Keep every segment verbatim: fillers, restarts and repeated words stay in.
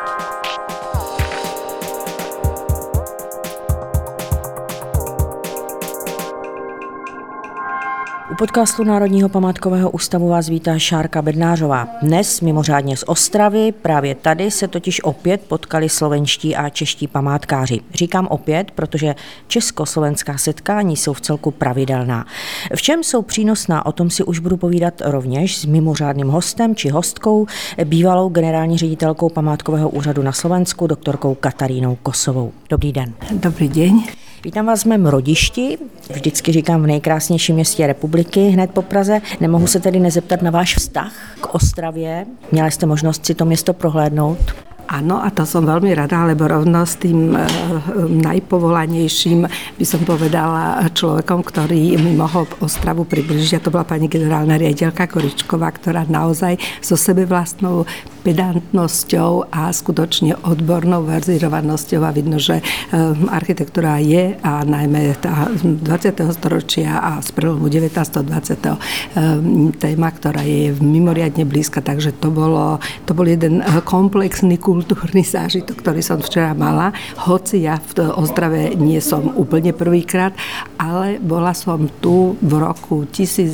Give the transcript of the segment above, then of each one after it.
U podcastu Národního památkového ústavu vás vítá Šárka Bednářová. Dnes mimořádně z Ostravy, právě tady se totiž opět potkali slovenští a čeští památkáři. Říkám opět, protože československá setkání jsou v celku pravidelná. V čem jsou přínosná, o tom si už budu povídat rovněž s mimořádným hostem či hostkou, bývalou generální ředitelkou památkového úřadu na Slovensku, doktorkou Katarínou Kosovou. Dobrý den. Dobrý deň. Vítám vás v mém rodišti, vždycky říkám v nejkrásnějším městě republiky, hned po Praze. Nemohu se tedy nezeptat na váš vztah k Ostravě. Měla jste možnost si to město prohlédnout? Áno, a to som veľmi rada, lebo rovno s tým e, najpovolanejším by som povedala človekom, ktorý mi mohol Ostravu približiť. A to bola pani generálna riaditeľka Koričková, ktorá naozaj so sebevlastnou pedantnosťou a skutočne odbornou verzírovanosťou, a vidno, že e, architektúra je, a najmä tá dvadsiateho storočia a z prelomu devätnásteho a dvadsiateho E, téma, ktorá je mimoriadne blízka, takže to bolo, to bol jeden komplexný kultúrny zážitok, ktorý som včera mala, hoci ja v Ostrave nie som úplne prvýkrát, ale bola som tu v roku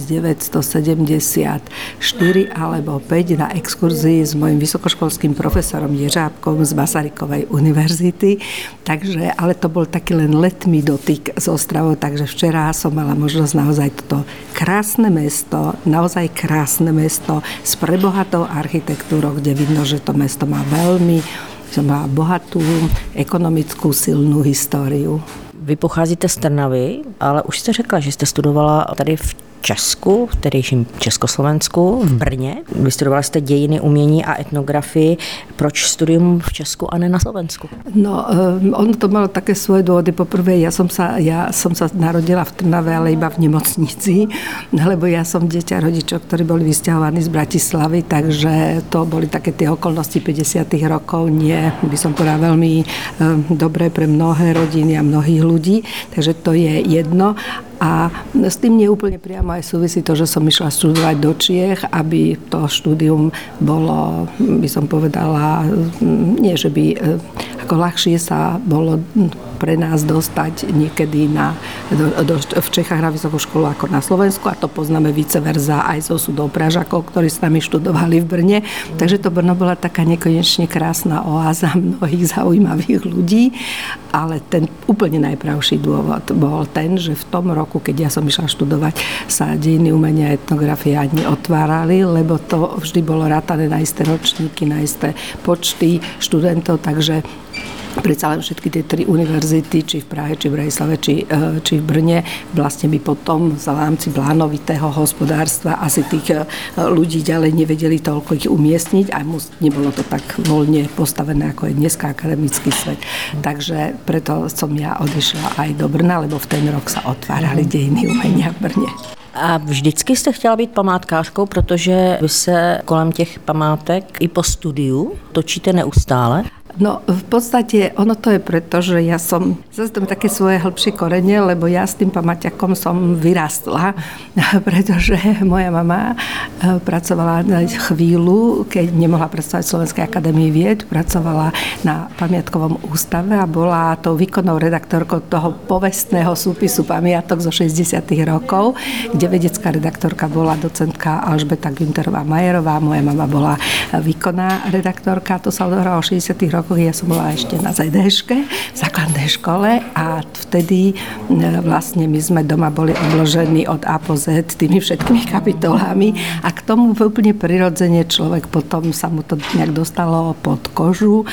devätnásťstosedemdesiatštyri alebo päť na exkurzii s mojim vysokoškolským profesorom Ježábkom z Masarykovej univerzity, takže, ale to bol taký len letmý dotyk s Ostravou, takže včera som mala možnosť naozaj toto krásne mesto, naozaj krásne mesto s prebohatou architektúrou, kde vidno, že to mesto má veľmi že má bohatú ekonomickú silnú históriu. Vy pocházíte z Trnavy, ale už jste řekla, že jste studovala tady v Česku, v tehdejším Československu, v Brně. Vystudovala jste dějiny, umění a etnografii. Proč studium v Česku a ne na Slovensku? No, um, ono to malo také svoje dôvody. Poprvé, ja som sa, ja som sa narodila v Trnave, ale iba v nemocnici, lebo ja som dieťa rodičov, ktorí boli vysťahovaní z Bratislavy, takže to boli také tie okolnosti päťdesiatych rokov, nie, by som povedala, veľmi um, dobré pre mnohé rodiny a mnohých ľudí, takže to je jedno. A s tým nie úplne priamo aj súvisí to, že som išla študovať do Čiech, aby to štúdium bolo, by som povedala, nie, že by ako ľahšie sa bolo pre nás dostať niekedy na, do, do, v Čechách na vysokú školu ako na Slovensku, a to poznáme vice versa aj zo súdov Pražakov, ktorí s nami študovali v Brne. Takže to Brno bola taká nekonečne krásna oáza mnohých zaujímavých ľudí, ale ten úplne najpravší dôvod bol ten, že v tom roku, keď ja som išla študovať, sa dejiny, umenia a etnografia ani otvárali, lebo to vždy bolo rátané na isté ročníky, na isté počty študentov, takže predsa len všetky tie tri univerzity, či v Prahe, či v Bratislave, či, či v Brne, vlastne by potom v rámci plánovitého hospodárstva asi tých ľudí ďalej nevedeli toľko ich umiestniť, a nebolo to tak voľne postavené, ako je dneska akademický svet. Takže preto som ja odišla aj do Brna, lebo v ten rok sa otvárali dejiny umenia v Brně. A vždycky jste chtěla být památkářkou, protože vy se kolem těch památek i po studiu točíte neustále? No, v podstate ono to je preto, že ja som, zase tam také svoje hĺbšie korene, lebo ja s tým pamäťakom som vyrastla, pretože moja mama pracovala chvíľu, keď nemohla pracovať v Slovenskej akadémii vied, pracovala na pamiatkovom ústave a bola tou výkonnou redaktorkou toho povestného súpisu pamiatok zo šesťdesiatych rokov, kde vedecká redaktorka bola docentka Alžbeta Günterová-Majerová, moja mama bola výkonná redaktorka, to sa odohralo v šesťdesiatych rokoch. Ja som bola ešte na zet dé ške, v základnej škole, a vtedy vlastne my sme doma boli obložení od A po Z tými všetkými kapitolami, a k tomu úplne prirodzene človek potom sa mu to nejak dostalo pod kožu,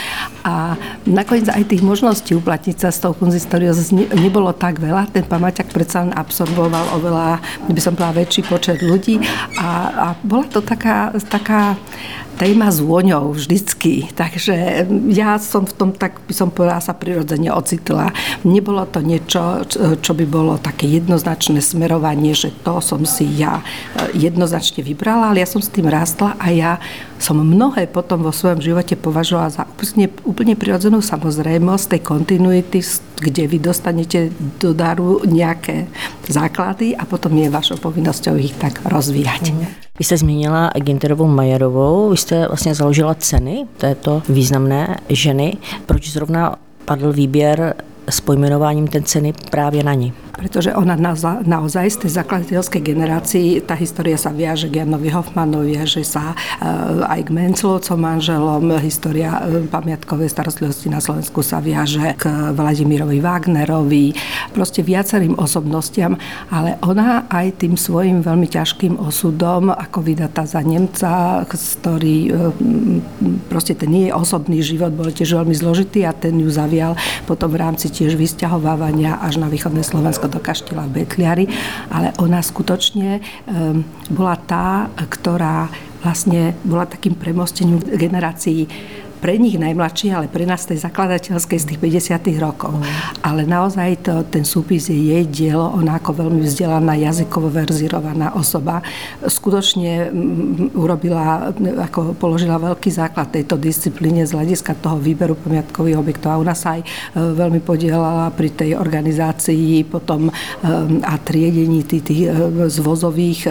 a nakoniec aj tých možností uplatniť sa s tou kunzistóriou nebolo tak veľa. Ten pamäťak predsa len absorboval oveľa, by som povedala, väčší počet ľudí, a, a bola to taká, taká téma s vôňou vždycky. Takže ja som v tom, tak by som povedala, sa prirodzene ocitla. Nebolo to niečo, čo by bolo také jednoznačné smerovanie, že to som si ja jednoznačne vybrala, ale ja som s tým rástla a ja som mnohé potom vo svojom živote považovala za úplne, úplne prirodzenú samozrejmosť tej kontinuity, kde vy dostanete do daru nejaké základy a potom je vašou povinnosťou ich tak rozvíjať. Vy jste zmínila Günterovou Mayerovou, vy jste vlastně založila ceny této významné ženy. Proč zrovna padl výběr s pojmenováním té ceny právě na ní? Pretože ona naozaj, naozaj z tej zakladateľskej generácii, tá história sa viaže k Janovi Hofmannovi, viaže sa aj k Menclovcom manželom, história pamiatkovej starostlivosti na Slovensku sa viaže k Vladimírovi Wagnerovi, proste viacerým osobnostiam, ale ona aj tým svojim veľmi ťažkým osudom, ako vydatá za Nemca, ktorý proste ten jej osobný život bol tiež veľmi zložitý a ten ju zavial potom v rámci tiež vysťahovávania až na východné Slovensko do kaštieľa v Betliari, ale ona skutočne um, bola tá, ktorá vlastne bola takým premostením generácií pre nich najmladší, ale pre nás tej zakladateľskej z tých päťdesiatych rokov. Mm. Ale naozaj to, ten súpis je jej dielo, ona ako veľmi vzdelaná, jazykovo verzírovaná osoba, skutočne urobila, ako položila veľký základ tejto disciplíne z hľadiska toho výberu pamiatkových objektov. A ona sa aj veľmi podielala pri tej organizácii potom a triedení tých, tých zvozových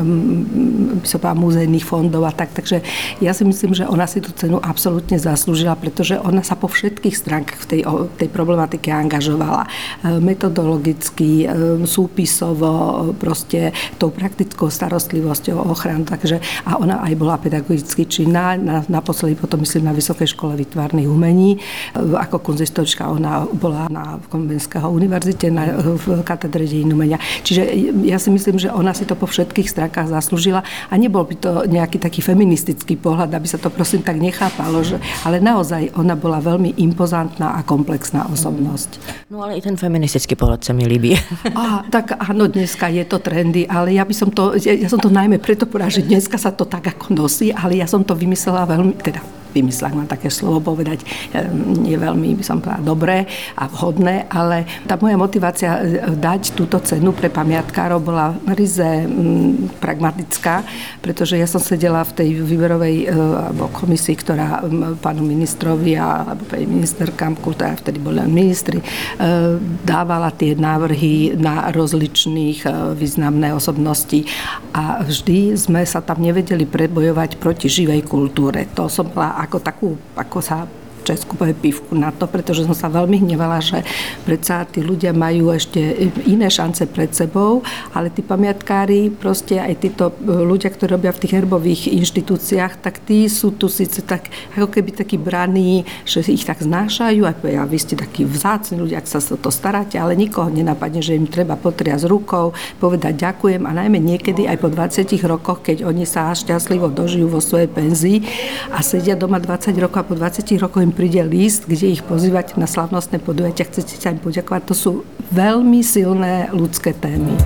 múzejných fondov a tak. Takže ja si myslím, že ona si tú cenu absolútne zaslúžila, pretože ona sa po všetkých stránkach v tej, tej problematike angažovala. Metodologicky, súpisovo, proste tou praktickou starostlivosťou, ochranu. Takže, a ona aj bola pedagogicky činná, na, naposledy potom myslím na Vysokej škole výtvarných umení. Ako kunzistorička ona bola na Komenského univerzite, na, v katedre dejín umenia. Čiže ja si myslím, že ona si to po všetkých stránkach zaslúžila a nebol by to nejaký taký feministický pohľad, aby sa to prosím tak nechápalo, že ale naozaj ona bola veľmi impozantná a komplexná osobnosť. No ale i ten feministický pohľad sa mi líbí. Á, tak áno, dneska je to trendy, ale ja by som to, ja, ja som to najmä preto povedala, že dneska sa to tak ako nosí, ale ja som to vymyslela veľmi, teda vymyslela, mám také slovo povedať, je veľmi, by som povedala, dobré a vhodné, ale tá moja motivácia dať túto cenu pre pamiatkárov bola ryze pragmatická, pretože ja som sedela v tej výberovej alebo komisii, ktorá pánu ministrovi alebo pani ministerkám, ktorá vtedy boli len ministri, dávala tie návrhy na rozličných významné osobnosti a vždy sme sa tam nevedeli prebojovať proti živej kultúre. To som bola ako takú, ako sa v Česku povie pivku na to, pretože som sa veľmi hnevala, že predsa tí ľudia majú ešte iné šance pred sebou, ale tí pamiatkári, proste aj títo ľudia, ktorí robia v tých herbových inštitúciách, tak tí sú tu síce tak, ako keby takí braní, že ich tak znášajú a vy ste takí vzácni ľudia, ak sa o to staráte, ale nikoho nenapadne, že im treba potriasť rukou, povedať ďakujem a najmä niekedy aj po dvadsiatich rokoch, keď oni sa šťastlivo dožijú vo svojej penzii a sedia doma dvadsať rokov a po dvadsiatich rokoch im príde list, kde ich pozývate na slavnostné podujatia, chcete sa im poďakovať. To sú veľmi silné ľudské témy.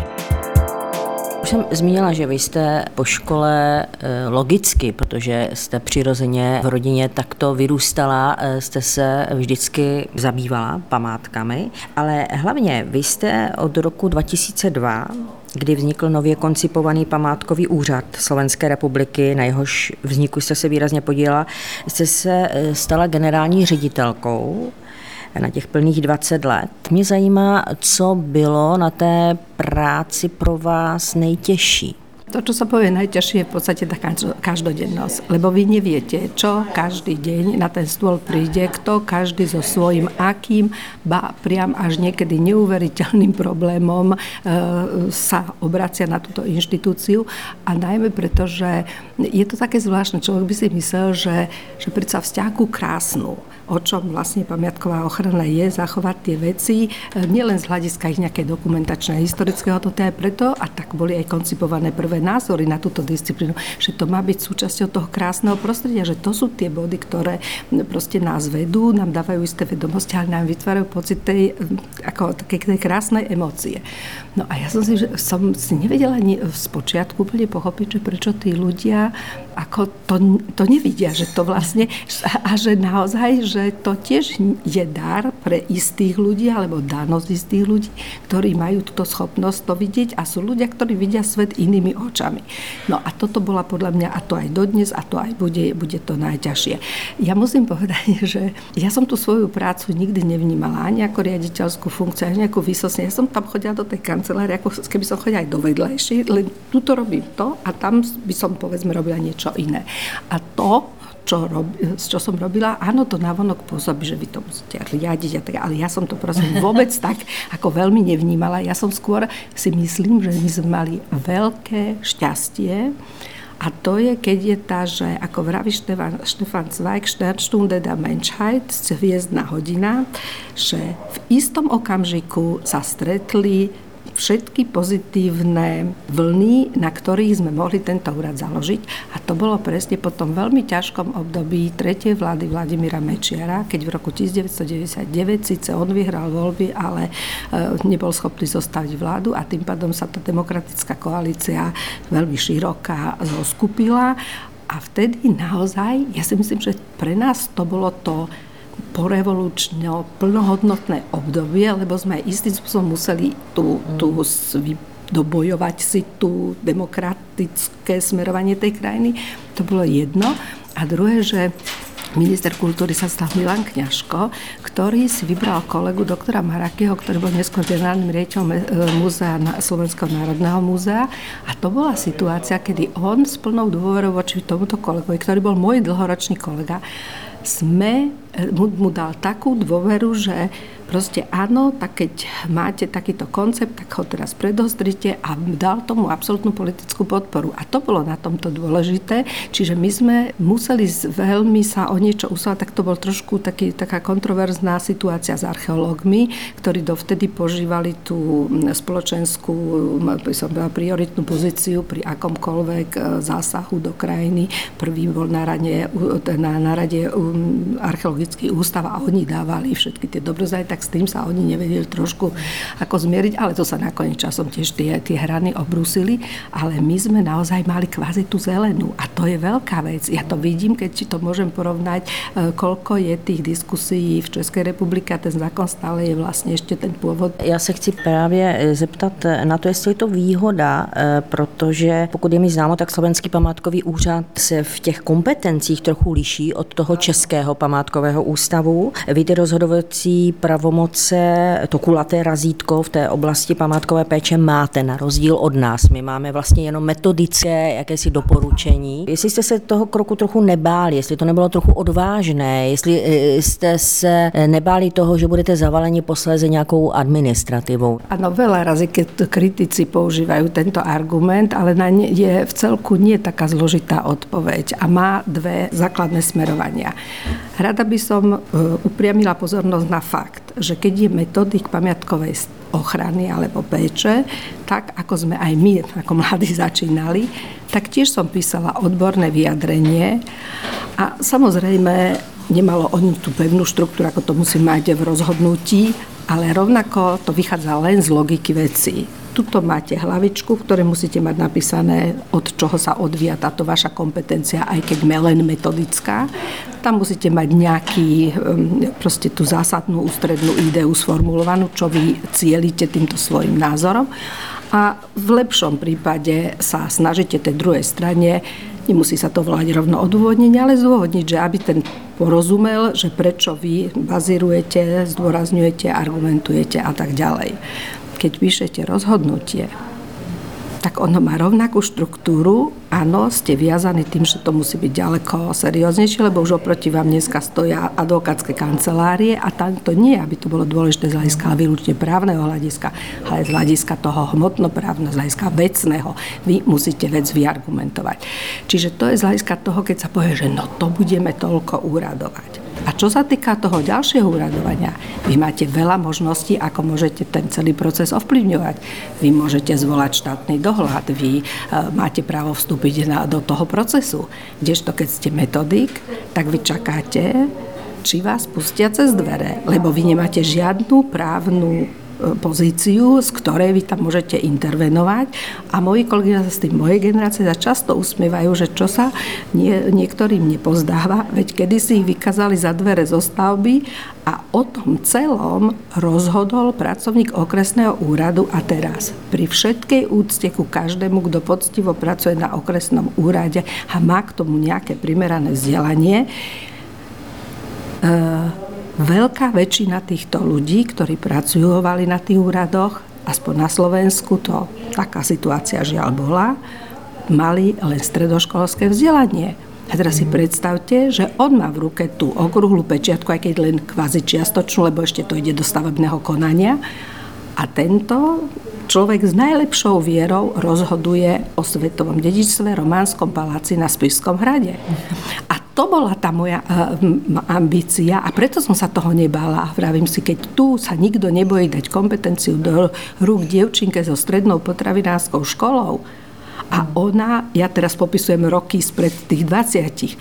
Už jsem zmínila, že vy jste po škole logicky, protože jste přirozeně v rodině takto vyrůstala, jste se vždycky zabývala památkami, ale hlavně vy jste od roku dva tisíce dva, kdy vznikl nově koncipovaný památkový úřad Slovenské republiky, na jehož vzniku jste se výrazně podílela, jste se stala generální ředitelkou na těch plných dvacet let. Mě zajímá, co bylo na té práci pro vás nejtěžší. To, čo sa povie najťažšie, je v podstate tá každodennosť, lebo vy neviete, čo každý deň na ten stôl príde, kto každý so svojím akým, ba priam až niekedy neuveriteľným problémom e, sa obracia na túto inštitúciu a najmä preto, že je to také zvláštne, človek by si myslel, že, že predsa vzťah ku krásnu, o čom vlastne pamiatková ochrana je, zachovať tie veci, nielen z hľadiska ich nejakej dokumentačnej historického, to je preto, a tak boli aj koncipované prvé názory na túto disciplínu, že to má byť súčasťou toho krásneho prostredia, že to sú tie body, ktoré proste nás vedú, nám dávajú isté vedomosti, ale nám vytvárajú pocit tej, ako také, tej krásnej emócie. No a ja som si, že som si nevedela ani z počiatku úplne pochopiť, že prečo tí ľudia ako to, to nevidia, že to vlastne, a že naozaj, že to tiež je dar pre istých ľudí, alebo danosť istých ľudí, ktorí majú túto schopnosť to vidieť a sú ľudia, ktorí vidia svet inými očami. No a toto bola podľa mňa, a to aj dodnes, a to aj bude, bude to najťažšie. Ja musím povedať, že ja som tú svoju prácu nikdy nevnímala ani ako riaditeľskú funkciu, ani nejakú výsostne. Ja som tam chodila do tej kancelárie, ako keby som chodila aj do vedlejšej, len tuto robím to a tam by som, povedzme, robila niečo iné. A to, čo, rob, čo som robila, áno, to navonok pôsobí, že vy to musíte riadiť, a tak, ale ja som to prosím vôbec tak ako veľmi nevnímala. Ja som skôr si myslím, že my sme mali veľké šťastie. A to je, keď je tá, že ako vraví Štefan, Štefan Zweig, Sternstunde der Menschheit, hviezdna hodina, že v istom okamžiku sa stretli všetky pozitívne vlny, na ktorých sme mohli tento úrad založiť. A to bolo presne po tom veľmi ťažkom období tretej vlády Vladimíra Mečiara, keď v roku devätnásťstodeväťdesiatdeväť síce on vyhral voľby, ale nebol schopný zostaviť vládu a tým pádom sa tá demokratická koalícia veľmi široká zoskupila. A vtedy naozaj, ja si myslím, že pre nás to bolo to porevolučné, plnohodnotné obdobie, lebo sme aj istým spôsobom museli tú, tú dobojovať si tú demokratické smerovanie tej krajiny. To bolo jedno. A druhé, že minister kultúry sa stal Milan Kňažko, ktorý si vybral kolegu doktora Marakeho, ktorý bol neskôr generálnym riaditeľom múzea, Slovenského národného múzea. A to bola situácia, kedy on s plnou dôverou voči tomuto kolegovi, ktorý bol môj dlhoročný kolega, sme mu, mu dal takú dôveru, že proste áno, tak keď máte takýto koncept, tak ho teraz predostrite a dal tomu absolútnu politickú podporu. A to bolo na tomto dôležité. Čiže my sme museli veľmi sa o niečo usilovať, tak to bol trošku taký, taká kontroverzná situácia s archeológmi, ktorí dovtedy požívali tú spoločenskú, by som bola, prioritnú pozíciu pri akomkoľvek zásahu do krajiny. Prvý bol na rade, na, na rade archeologický ústav a oni dávali všetky tie dobrozaj, tak s tým sa oni nevedeli trošku ako zmieriť, ale to sa nakoniec časom tiež tie, tie hrany obrúsili, ale my sme naozaj mali kvázi tú zelenú a to je veľká vec. Ja to vidím, keď si to môžem porovnať, koľko je tých diskusí v České republike a ten zákon stále je vlastně ještě ten původ. Já se chci právě zeptat na to, jestli je to výhoda, protože pokud je mi známo, tak Slovenský památkový úřad se v těch kompetencích trochu liší od toho Českého památkového ústavu. Vy ty rozhodovací pravomoce, to kulaté razítko v té oblasti památkové péče máte na rozdíl od nás. My máme vlastně jenom metodické jakési doporučení. Jestli jste se toho kroku trochu nebáli, jestli to nebylo trochu odvážné, jestli jste se nebáli toho, že budete zavaleni posléze nějakou administrativou. Ano, veľa razy, keď kritici používajú tento argument, ale na ne je v celku nie taká zložitá odpoveď a má dve základné smerovania. Rada by som upriamila pozornosť na fakt, že keď je metodik pamiatkovej ochrany alebo péče, tak ako sme aj my ako mladí začínali, tak tiež som písala odborné vyjadrenie a samozrejme nemalo oni tú pevnú štruktúru, ako to musí mať v rozhodnutí, ale rovnako to vychádza len z logiky vecí. Tuto máte hlavičku, v ktorej musíte mať napísané, od čoho sa odvíja táto vaša kompetencia, aj keď len metodická. Tam musíte mať nejaký, proste tú zásadnú ústrednú ideu sformulovanú, čo vy cielite týmto svojim názorom. A v lepšom prípade sa snažíte tej druhej strane, nemusí sa to volať rovno odôvodnenie, ale zdôvodniť, že aby ten porozumel, že prečo vy bazírujete, zdôrazňujete, argumentujete a tak ďalej. Keď píšete rozhodnutie, tak ono má rovnakú štruktúru. Áno, ste viazaní tým, že to musí byť ďaleko serióznejšie, lebo už oproti vám dneska stoja advokátske kancelárie a tam to nie, aby to bolo dôležité z hľadiska výlučne právneho hľadiska, ale z hľadiska toho hmotnoprávneho, z hľadiska vecného. Vy musíte vec vyargumentovať. Čiže to je z hľadiska toho, keď sa povie, že no to budeme toľko úradovať. A čo sa týka toho ďalšieho úradovania, vy máte veľa možností, ako môžete ten celý proces ovplyvňovať. Vy môžete zvolať štátny dohľad, vy máte právo vstúpiť na, do toho procesu. Kdežto keď ste metodik, tak vy čakáte, či vás pustia cez dvere, lebo vy nemáte žiadnu právnu pozíciu, z ktorej vy tam môžete intervenovať. A moji kolegovia z tým mojej generácie sa často usmievajú, že čo sa nie, niektorým nepozdáva, veď kedysi ich vykázali za dvere zo stavby a o tom celom rozhodol pracovník okresného úradu a teraz pri všetkej úcte ku každému, kto poctivo pracuje na okresnom úrade a má k tomu nejaké primerané vzdelanie, e, veľká väčšina týchto ľudí, ktorí pracujovali na tých úradoch, aspoň na Slovensku, to taká situácia žiaľ bola, mali len stredoškolské vzdelanie. A teraz si predstavte, že on má v ruke tú okrúhlu pečiatku, aj keď len kvázi čiastočnú, lebo ešte to ide do stavebného konania. A tento človek s najlepšou vierou rozhoduje o svetovom dedičstve, Románskom paláci na Spišskom hrade. A to bola tá moja uh, ambícia a preto som sa toho nebála. Vravím si, keď tu sa nikto nebojí dať kompetenciu do rúk dievčinke so strednou potravinárskou školou a ona, ja teraz popisujem roky spred tých dvadsiatich,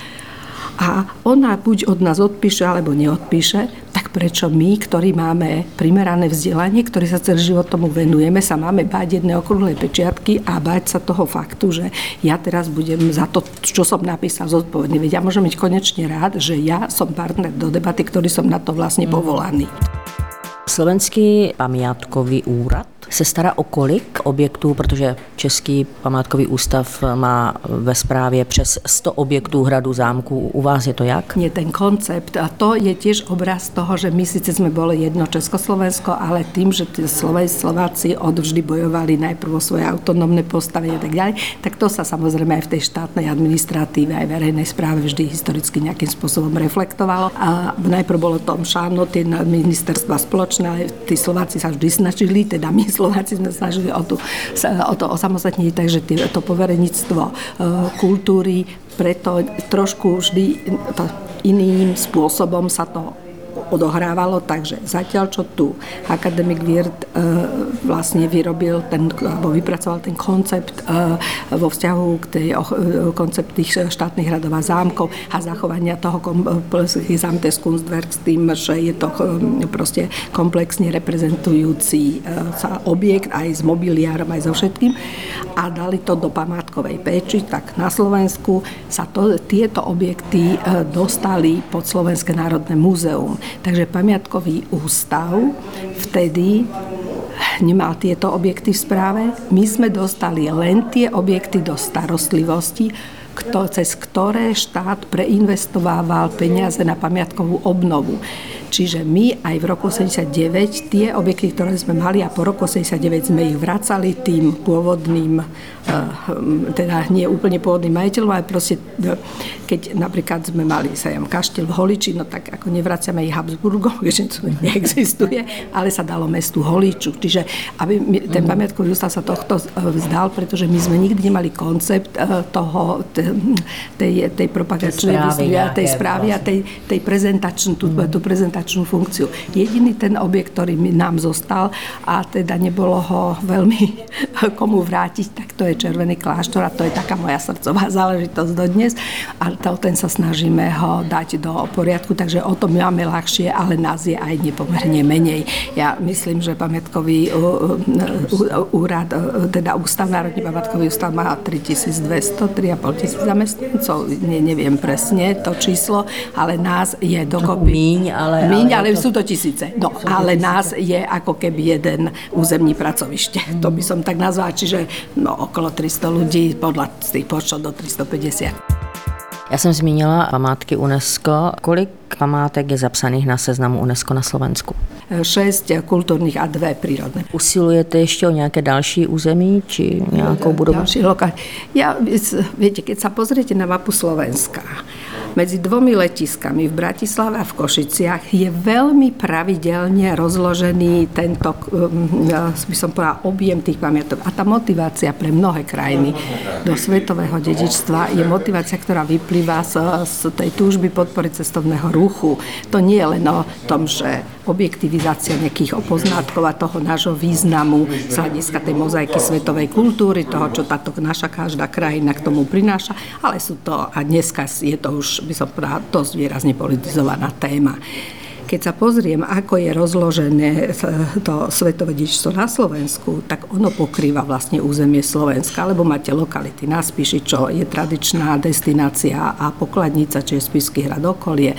a ona buď od nás odpíše, alebo neodpíše, tak prečo my, ktorí máme primerané vzdelanie, ktorí sa celý život tomu venujeme, sa máme báť jednej okrúhlej pečiatky a báť sa toho faktu, že ja teraz budem za to, čo som napísal, zodpovedný. Veď ja môžem byť konečne rád, že ja som partner do debaty, ktorý som na to vlastne povolaný. Slovenský pamiátkový úrad se stará o kolik objektů, protože Český památkový ústav má ve správě přes sto objektů hradu, zámků. U vás je to jak? Nie, ten koncept. A to je tiež obraz toho, že my síce sme boli jedno Československo, ale tým, že tí Slováci odvždy bojovali najprv o svoje autonómne postavenie a tak ďalej, tak to sa samozrejme aj v tej štátnej administratíve, aj verejnej správe vždy historicky nejakým spôsobom reflektovalo. A najprv bolo to šáno, tie ministerstva spoločné, ale tí Slováci sa vždy snažili, teda my Slováci sme snažili o, tú, o to osamostatnenie, takže to povereníctvo kultúry, preto trošku vždy to iným spôsobom sa to odohrávalo, takže zatiaľ, čo tu akademik Wirth e, vlastne vyrobil ten, alebo vypracoval ten koncept e, vo vzťahu k tej o, koncept tých štátnych hradov a zámkov a zachovania toho Gesamtes Kunstwerk s tým, že je to e, proste komplexne reprezentujúci e, sa objekt aj s mobiliárom, aj so všetkým a dali to do památkovej péči, tak na Slovensku sa to, tieto objekty e, dostali pod Slovenské národné múzeum. Takže pamiatkový ústav vtedy nemal tieto objekty v správe. My sme dostali len tie objekty do starostlivosti, kto, cez ktoré štát preinvestovával peniaze na pamiatkovú obnovu. Čiže my aj v roku osemdesiatdeväť tie objekty, ktoré sme mali a po roku osemdesiatdeväť sme ich vracali tým pôvodným, teda nie úplne pôvodným majiteľom, ale proste keď napríklad sme mali sajam kaštiel v Holiči, no tak ako nevraciame ich Habsburgom, keďže to neexistuje, ale sa dalo mestu Holiču. Čiže aby ten pamiatkový ústav sa tohto vzdal, pretože my sme nikdy nemali koncept toho, tej, tej propagačnej tej správy a tej, tej prezentačnej, tú, tú prezentačnú funkciu. Jediný ten objekt, ktorý nám zostal a teda nebolo ho veľmi komu vrátiť, tak to je Červený kláštor a to je taká moja srdcová záležitosť dodnes a to, ten sa snažíme ho dať do poriadku, takže o tom máme ľahšie, ale nás je aj nepomerne menej. Ja myslím, že pamiatkový úrad, teda Ústav, Národný pamiatkový ústav má tritisícdvesto, tri a pol tisíc zamestnancov, ne, neviem presne to číslo, ale nás je dokopy. Míň, ale... Míň, ale, ale to... sú to tisíce. No, sú ale tisíce. Nás je ako keby jeden územní pracovište. Mm. To by som tak nazvala, čiže no, okolo tristo ľudí, podľa tých počtov do tristopäťdesiat. Já jsem zmínila památky UNESCO. Kolik památek je zapsaných na seznamu UNESCO na Slovensku? Šesť kultúrnych a dve prírodné. Usilujete ještě o nějaké další území, či nějakou budovu? Ďalší lokál. Ja, viete, keď sa pozriete na mapu Slovenska, medzi dvomi letiskami v Bratislave a v Košiciach je veľmi pravidelne rozložený tento, by som povedala, objem tých pamiatok. A tá motivácia pre mnohé krajiny do svetového dedičstva je motivácia, ktorá vyplýva z, z tej túžby podpory cestovného ruchu. To nie je len o tom, že objektivizácia nejakých poznátkov a toho nášho významu z hľadiska tej mozaiky svetovej kultúry, toho, čo táto naša každá krajina k tomu prináša, ale sú to, a dneska je to už, by som povedala, dosť výrazne politizovaná téma. keď sa pozriem, ako je rozložené to svetové dedičstvo na Slovensku, tak ono pokrýva vlastne územie Slovenska, lebo máte lokality na Spiši, čo je tradičná destinácia a pokladnica, čiže Spišský hrad, okolie.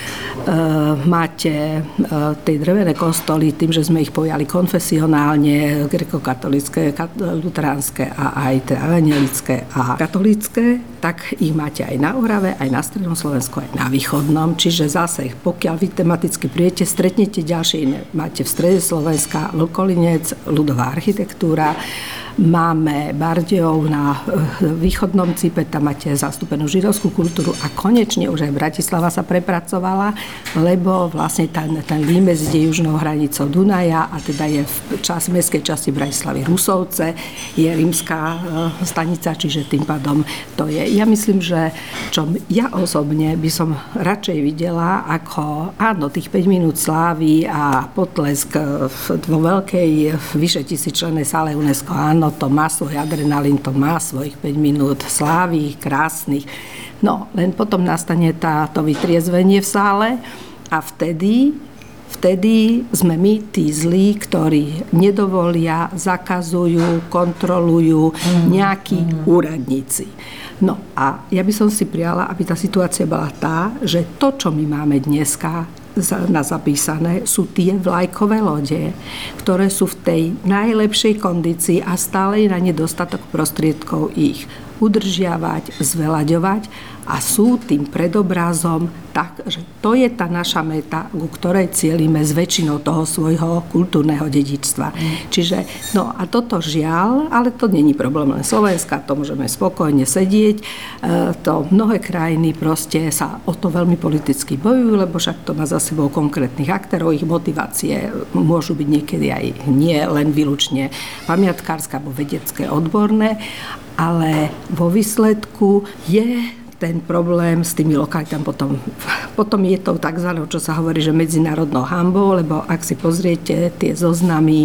Máte tie drevené kostoly, tým, že sme ich pojali konfesionálne, grekokatolické, luteránske a aj evangelické a katolícke, tak ich máte aj na Orave, aj na strednom Slovensku, aj na východnom. Čiže zase, pokiaľ vy tematicky príjete, stretnete ďalšie iné. Máte v strede Slovenska Vlkolinec, ľudová architektúra, máme Bardejov na východnom Cipe, tam máte zastúpenú židovskú kultúru a konečne už aj Bratislava sa prepracovala, lebo vlastne ten, ten límec ide južnou hranicou Dunaja a teda je v čas, mestskej časti Bratislavy Rusovce, je rímska stanica, čiže tým pádom to je. Ja myslím, že čo ja osobne by som radšej videla, ako áno, tých päť minút slávy a potlesk vo veľkej, vyše tisícčlennej sále UNESCO, áno, no to má svoj adrenalín, to má svojich päť minút slávy, krásnych. No, len potom nastane tá, to vytriezvenie v sále a vtedy, vtedy sme my tí zlí, ktorí nedovolia, zakazujú, kontrolujú nejakí mm. úradníci. No a ja by som si prijala, aby tá situácia bola tá, že to, čo my máme dneska na zapísané, sú tie vlajkové lode, ktoré sú v tej najlepšej kondícii a stále je na nedostatok prostriedkov ich udržiavať, zvelaďovať a sú tým predobrazom tak, že to je tá naša meta, ku ktorej cielime s väčšinou toho svojho kultúrneho dedičstva. Mm. Čiže, no a toto žiaľ, ale to není problém len Slovenska, to môžeme spokojne sedieť. E, to mnohé krajiny proste sa o to veľmi politicky bojujú, lebo však to má za sebou konkrétnych aktérov, ich motivácie môžu byť niekedy aj nie len výlučne pamiatkárske alebo vedecké, odborné, ale vo výsledku je ten problém s tými lokalitami potom, potom je to takzvané, čo sa hovorí, že medzinárodnou hanbou, lebo ak si pozriete tie zoznamy,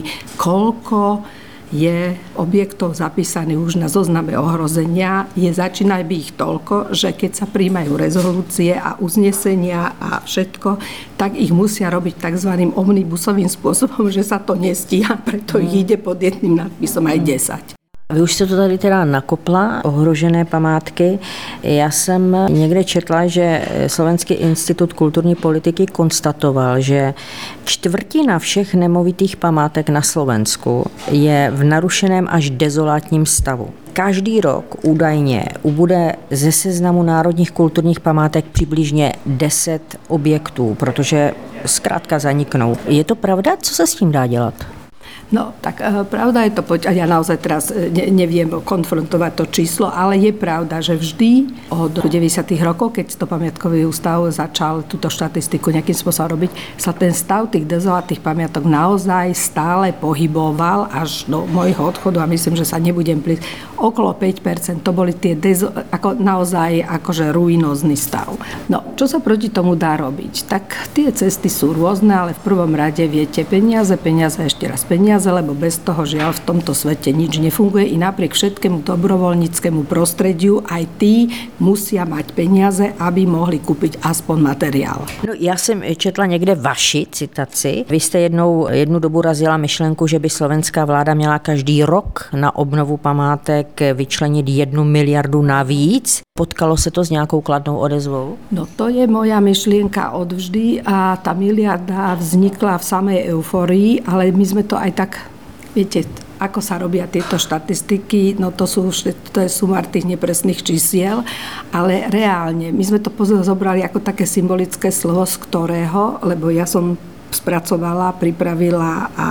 koľko je objektov zapísaných už na zozname ohrozenia, je začína byť ich toľko, že keď sa príjmajú rezolúcie a uznesenia a všetko, tak ich musia robiť takzvaným omnibusovým spôsobom, že sa to nestíha, preto ich ide pod jedným nadpisom aj desať. Vy už jste to tady teda nakopla, ohrožené památky. Já jsem někde četla, že Slovenský institut kulturní politiky konstatoval, že čtvrtina všech nemovitých památek na Slovensku je v narušeném až dezolátním stavu. Každý rok údajně ubude ze seznamu národních kulturních památek přibližně deset objektů, protože zkrátka zaniknou. Je to pravda? Co se s tím dá dělat? No, tak e, pravda je to, poď, ja naozaj teraz ne, neviem konfrontovať to číslo, ale je pravda, že vždy od deväťdesiatych rokov, keď to pamiatkový ústav začal túto štatistiku nejakým spôsobom robiť, sa ten stav tých dezolátnych pamiatok naozaj stále pohyboval až do môjho odchodu a myslím, že sa nebudem plýť. Okolo päť percent to boli tie dezo, ako naozaj akože ruinózny stav. No, čo sa proti tomu dá robiť? Tak tie cesty sú rôzne, ale v prvom rade viete peniaze, peniaze, ešte raz peniaze, lebo bez toho žiaľ v tomto svete nič nefunguje i napriek všetkému dobrovoľníckému prostrediu aj tí musia mať peniaze, aby mohli kúpiť aspoň materiál. No, já jsem četla někde vaši citaci. Vy jste jednou jednu dobu razila myšlenku, že by slovenská vláda měla každý rok na obnovu památek vyčlenit jednu miliardu navíc. Potkalo se to s nějakou kladnou odezvou? No to je moja myšlienka odvždy a tá miliarda vznikla v samej euforii, ale my sme to aj tak, viete, ako sa robia tieto štatistiky, no to sú to je sumár tých nepresných čísiel, ale reálne, my sme to zobrali ako také symbolické slovo, z ktorého, lebo ja som spracovala, pripravila a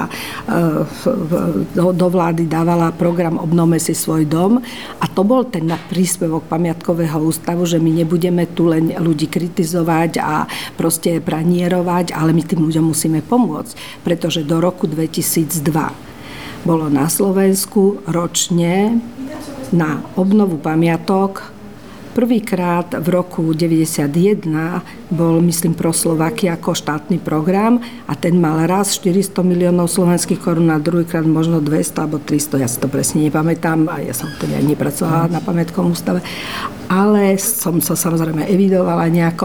do vlády dávala program Obnovme si svoj dom a to bol ten príspevok pamiatkového ústavu, že my nebudeme tu len ľudí kritizovať a proste pranierovať, ale my tým ľuďom musíme pomôcť, pretože do roku dvetisícdva bolo na Slovensku ročne na obnovu pamiatok. Prvýkrát v roku deväťdesiatjeden bol, myslím, pro Slovakia ako štátny program a ten mal raz štyristo miliónov slovenských korún a druhýkrát možno dvesto alebo tristo, ja si to presne nepamätám a ja som teda nepracovala na pamiatkovom ústave, ale som sa samozrejme evidovala nejako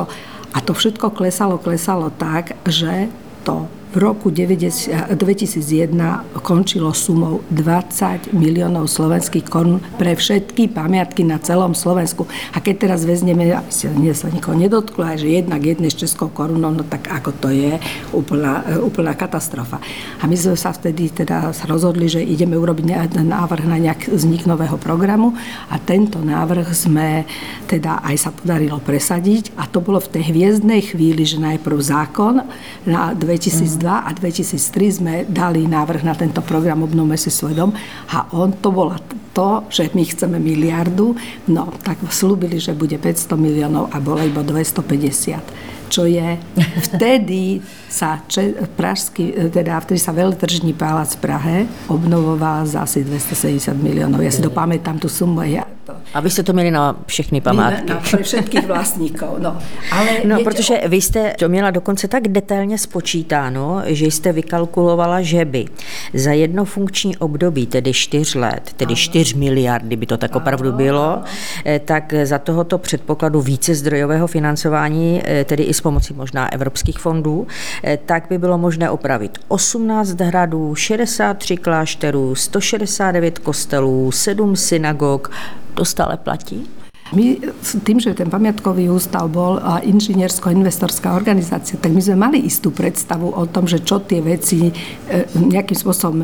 A to všetko klesalo, klesalo tak, že to v roku dvetisícjeden končilo sumou dvadsať miliónov slovenských korún pre všetky pamiatky na celom Slovensku. A keď teraz vezmeme, aby sa nikoho nedotklo, aj že jednak jednej s českou korunou, no tak ako to je úplná, úplná katastrofa. A my sme sa vtedy teda rozhodli, že ideme urobiť návrh na nejak vznik nového programu a tento návrh sme teda aj sa podarilo presadiť a to bolo v tej hviezdnej chvíli, že najprv zákon na dvetisícdva a dvetisíctri sme dali návrh na tento program Obnovme si svoj dom a on to bola to, že my chceme miliardu, no tak slúbili, že bude päťsto miliónov a bolo iba dvestopäťdesiat. Čo je vtedy sa če, pražský, teda vtedy sa Veletržní palác v Prahe obnovoval za asi dvestosedemdesiat miliónov. Ja si to pamätám, tú sumu. Ja to... A vy jste to měli na všechny památky. Na, pre všetkých vlastníkov, no. Ale no, viete, protože vy jste to měla dokonce tak detailně spočítáno, že jste vykalkulovala, že by za jedno funkční období, tedy čtyř let, tedy čtyři miliardy by to tak opravdu bylo, tak za tohoto předpokladu více zdrojového financování, tedy i s pomocí možná evropských fondů, tak by bylo možné opravit osmnáct hradů, šedesát tři klášterů, sto šedesát devět kostelů, sedm synagog. To stále platí? My tým, že ten pamiatkový ústav bol inžiniersko-investorská organizácia, tak my sme mali istú predstavu o tom, že čo tie veci nejakým spôsobom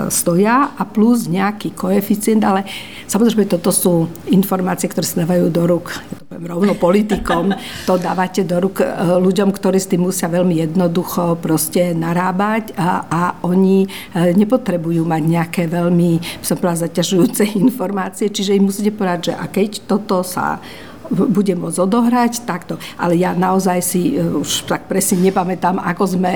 stoja a plus nejaký koeficient, ale samozrejme toto sú informácie, ktoré sa dávajú do rúk, ja to poviem rovno politikom, to dávate do rúk ľuďom, ktorí s tým musia veľmi jednoducho proste narábať a, a oni nepotrebujú mať nejaké veľmi, som povedala, zaťažujúce informácie, čiže im musíte povedať, že a keď toto sa bude môcť odohrať takto. Ale ja naozaj si už tak presne nepamätám, ako sme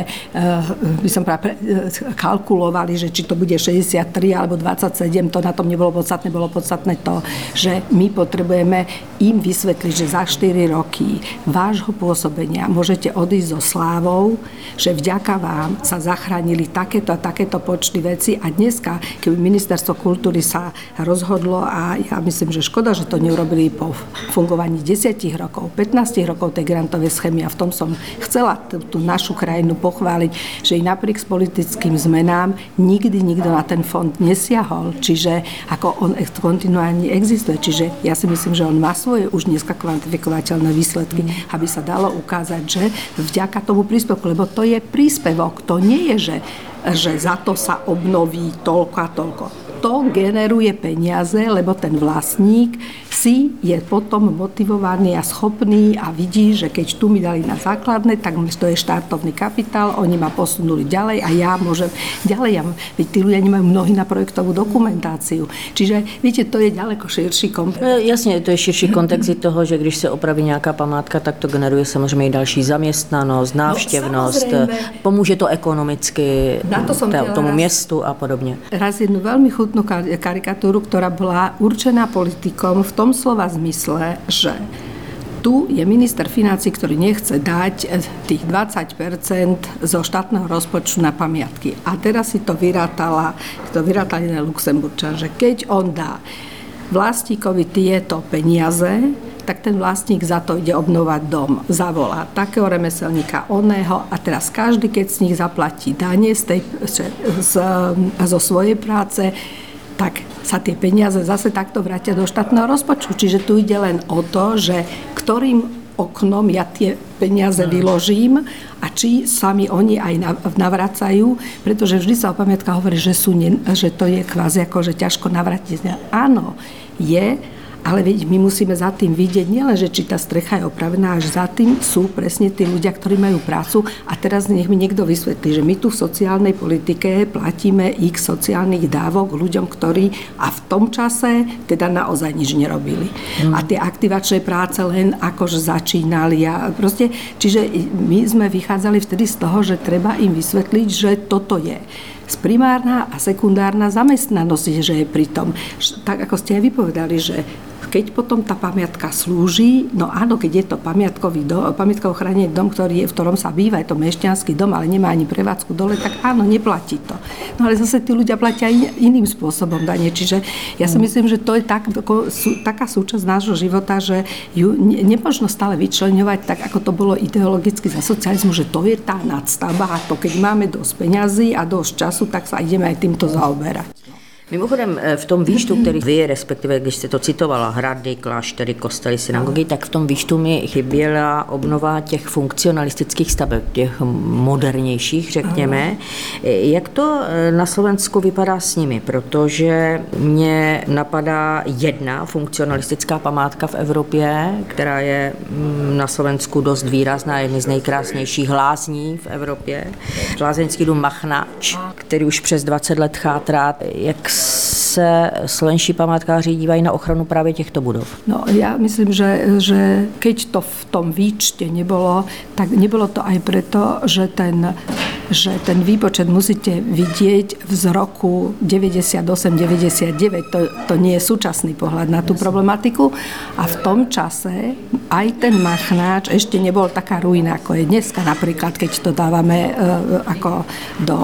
by som práve kalkulovali, že či to bude šesťdesiattri alebo dvadsaťsedem, to na tom nebolo podstatné, bolo podstatné to, že my potrebujeme im vysvetliť, že za štyri roky vášho pôsobenia môžete odísť so slávou, že vďaka vám sa zachránili takéto a takéto počty veci a dneska, keby ministerstvo kultúry sa rozhodlo a ja myslím, že škoda, že to neurobili po fungovaní desať rokov, pätnásť rokov tej grantovej schémy a v tom som chcela tú, tú našu krajinu pochváliť, že i napriek politickým zmenám nikdy nikto na ten fond nesiahol, čiže ako on kontinuálne existuje, čiže ja si myslím, že on má svoje už dneska kvantifikovateľné výsledky, mm. aby sa dalo ukázať, že vďaka tomu príspevku, lebo to je príspevok, to nie je, že, že za to sa obnoví toľko a toľko. To generuje peniaze, lebo ten vlastník si je potom motivovaný a schopný a vidí, že keď tu mi dali na základné, tak to je štartovný kapitál, oni ma posunuli ďalej a ja môžem ďalej. Ja, veď tí ľudia nemajú mnohí na projektovú dokumentáciu. Čiže, viete, to je ďaleko širší kontext. Jasně, to je širší kontext toho, že když se opraví nějaká památka, tak to generuje samozřejmě i další zaměstnanost, návštěvnost, no, pomůže to ekonomicky to tomu raz, městu a podobně. Raz jednu veľmi chutnú karikatúru, ktorá bola určená politikom v tom slova zmysle, že tu je minister financií, ktorý nechce dať tých dvadsať percent zo štátneho rozpočtu na pamiatky. A teraz si to vyrátala, to vyrátal jeden Luxemburčan, že keď on dá vlastníkovi tieto peniaze, tak ten vlastník za to ide obnovať dom. Zavolá takého remeselníka, oného a teraz každý, keď z nich zaplatí dane z tej, z, zo svojej práce, tak sa tie peniaze zase takto vrátia do štátneho rozpočtu. Čiže tu ide len o to, že ktorým oknom ja tie peniaze vyložím a či sami oni aj navracajú, pretože vždy sa o pamiatkách hovorí, že, sú, že to je kvázi ako, že ťažko navratiť. Áno, je, ale veď my musíme za tým vidieť nielen, že či tá strecha je opravená, až za tým sú presne tí ľudia, ktorí majú prácu a teraz nech mi niekto vysvetlí, že my tu v sociálnej politike platíme x sociálnych dávok ľuďom, ktorí a v tom čase teda naozaj nič nerobili. Mm. A tie aktivačné práce len akože začínali a proste, čiže my sme vychádzali vtedy z toho, že treba im vysvetliť, že toto je primárna a sekundárna zamestnanosť, že je pri tom. Tak ako ste aj vypovedali, že keď potom tá pamiatka slúži, no áno, keď je to pamiatkový dom, pamiatkovo chránený dom, ktorý je, v ktorom sa býva, je to mešťanský dom, ale nemá ani prevádzku dole, tak áno, neplatí to. No ale zase tí ľudia platia in, iným spôsobom dane. Čiže ja si myslím, že to je tak, ako, sú, taká súčasť nášho života, že ju ne, nemožno stále vyčleňovať tak, ako to bolo ideologicky za socializmu, že to je tá nadstavba a to, keď máme dosť peňazí a dosť času, tak sa ideme aj týmto zaoberať. Mimochodem v tom výčtu, který vy, respektive když jste to citovala, hrady, kláštery, kostely, synagogy, tak v tom výčtu mi chyběla obnova těch funkcionalistických staveb, těch modernějších, řekněme. Jak to na Slovensku vypadá s nimi? Protože mě napadá jedna funkcionalistická památka v Evropě, která je na Slovensku dost výrazná, jedny z nejkrásnějších lázní v Evropě. Lázeňský dům Machnač, který už přes dvacet let chátrá. Jak se slovenští památkáři dívají na ochranu právě těchto budov? No ja myslím, že, že keď to v tom výčte nebolo, tak nebolo to aj preto, že ten, že ten výpočet musíte vidieť z roku deväťdesiatosem deväťdesiatdeväť. To, to nie je súčasný pohľad na tú problematiku. A v tom čase aj ten Machnáč ešte nebol taká ruina, ako je dneska. Napríklad, keď to dávame e, ako do,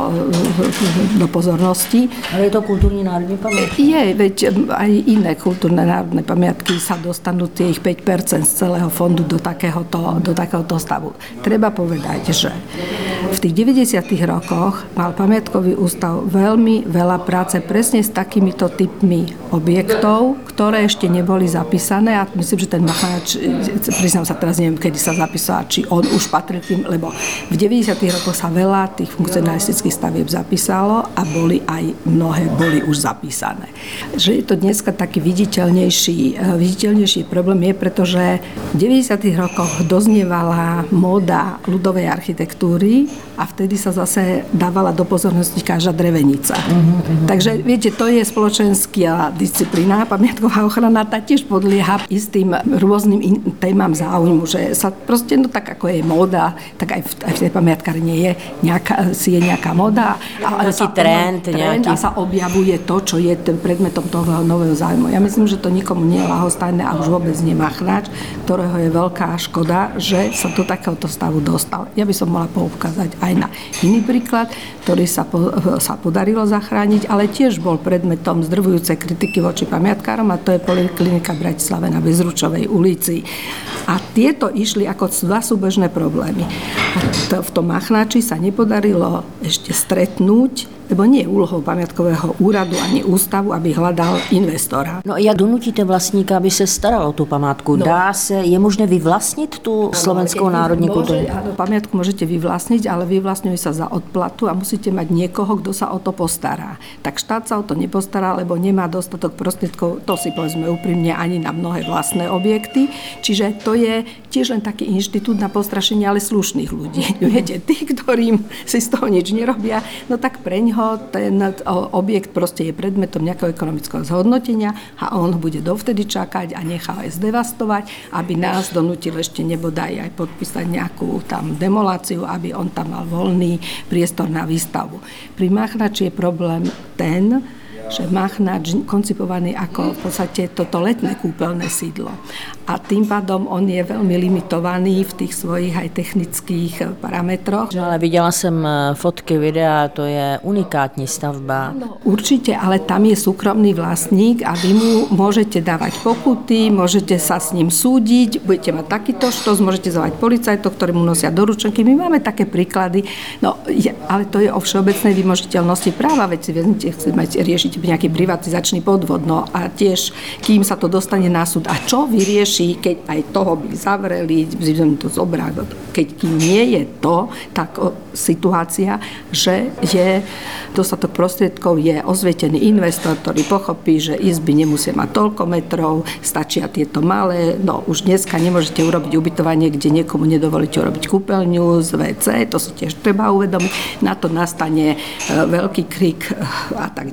do pozornosti. Ale je to kultúrny národný pamiatok? Je, veď aj iné kultúrne národné pamiatky sa dostanú tie ich päť percent z celého fondu do takéhoto, do takéhoto stavu. Treba povedať, že v tých deväťdesiatych rokoch mal pamiatkový ústav veľmi veľa práce presne s takýmito typmi objektov, ktoré ešte neboli zapísané a myslím, že ten Machnáč, priznám sa teraz, neviem, kedy sa zapísal, či on už patril tým, lebo v deväťdesiatych rokoch sa veľa tých funkcionalistických stavieb zapísalo a boli aj mnohé boli už zapísané. Že je to dneska taký viditeľnejší, viditeľnejší problém je, pretože v deväťdesiatych rokoch doznievala móda ľudovej architektúry a vtedy sa zase dávala do pozornosti každá drevenica. Uh-huh. Takže viete, to je spoločenská disciplína, pamiatková ochrana, tá tiež podlieha istým rôznym in- témam záujmu, že sa proste, no tak ako je móda, tak aj v, aj v tej pamiatkárni je nejaká, si je nejaká móda a, a sa, trend, trend a sa objavuje to, čo je tým predmetom toho nového záujmu. Ja myslím, že to nikomu nie je ľahostajné a už vôbec nie Machnáč, ktorého je veľká škoda, že sa do takéhoto stavu dostal. Ja by som mohla poukázať aj na iný príklad, ktorý sa, po, sa podarilo zachrániť, ale tiež bol predmetom zdrvujúcej kritiky voči pamiatkárom a to je Poliklinika v Bratislave na Bezručovej ulici. A tieto išli ako dva súbežné problémy. A to, v tom Machnáči sa nepodarilo ešte stretnúť, lebo nie je úlohou pamiatkového úradu ani ústavu, aby hľadal investora. No jak donutíte vlastníka, aby se staral o tu památku? No. Dá se, je možné vyvlastnit tu no, slovenskou národní kultúru? Áno, pamiatku môžete vyvlastniť, ale vyvlastňuje sa za odplatu a musíte mať niekoho, kto sa o to postará. Tak štát sa o to nepostará, lebo nemá dostatok prostriedkov, to si povedzme úprimne, ani na mnohé vlastné objekty. Čiže to je tiež len taký inštitút na postrašenie, ale slušných ľudí. Viete, tí, ktorým si z toho nič nerobia, no tak preňho ten objekt proste je predmetom nejakého ekonomického zhodnotenia a on bude dovtedy čakať a nechá aj zdevastovať, aby nás donútil ešte nebodaj aj podpísať nejakú tam demoláciu, aby on tam mal voľný priestor na výstavu. Pri Machnáči je problém ten, že Machnáč koncipovaný ako v podstate toto letné kúpeľné sídlo. A tým pádom on je veľmi limitovaný v tých svojich aj technických parametroch. No, ale viděla jsem fotky, videa, to je unikátní stavba. No, určite, ale tam je súkromný vlastník a vy mu môžete dávať pokuty, môžete sa s ním súdiť, budete mať takýto štos, môžete zavať policajtov, ktorí mu nosia doručenky. My máme také príklady, no, je, ale to je o všeobecnej vymožiteľnosti práva, veď si vezmite, chcete riešiť nejaký privatizačný podvod, no a tiež, kým sa to dostane na súd. A čo vyrieši, keď aj toho by zavreli, to zobrať, keď kým nie je to, tak o, situácia, že je dostatok prostriedkov, je osvietený investor, ktorý pochopí, že izby nemusia mať toľko metrov, stačia tieto malé, no už dneska nemôžete urobiť ubytovanie, kde niekomu nedovolíte urobiť kúpeľňu z vé cé, to si tiež treba uvedomiť, na to nastane veľký krik a tak ďalej,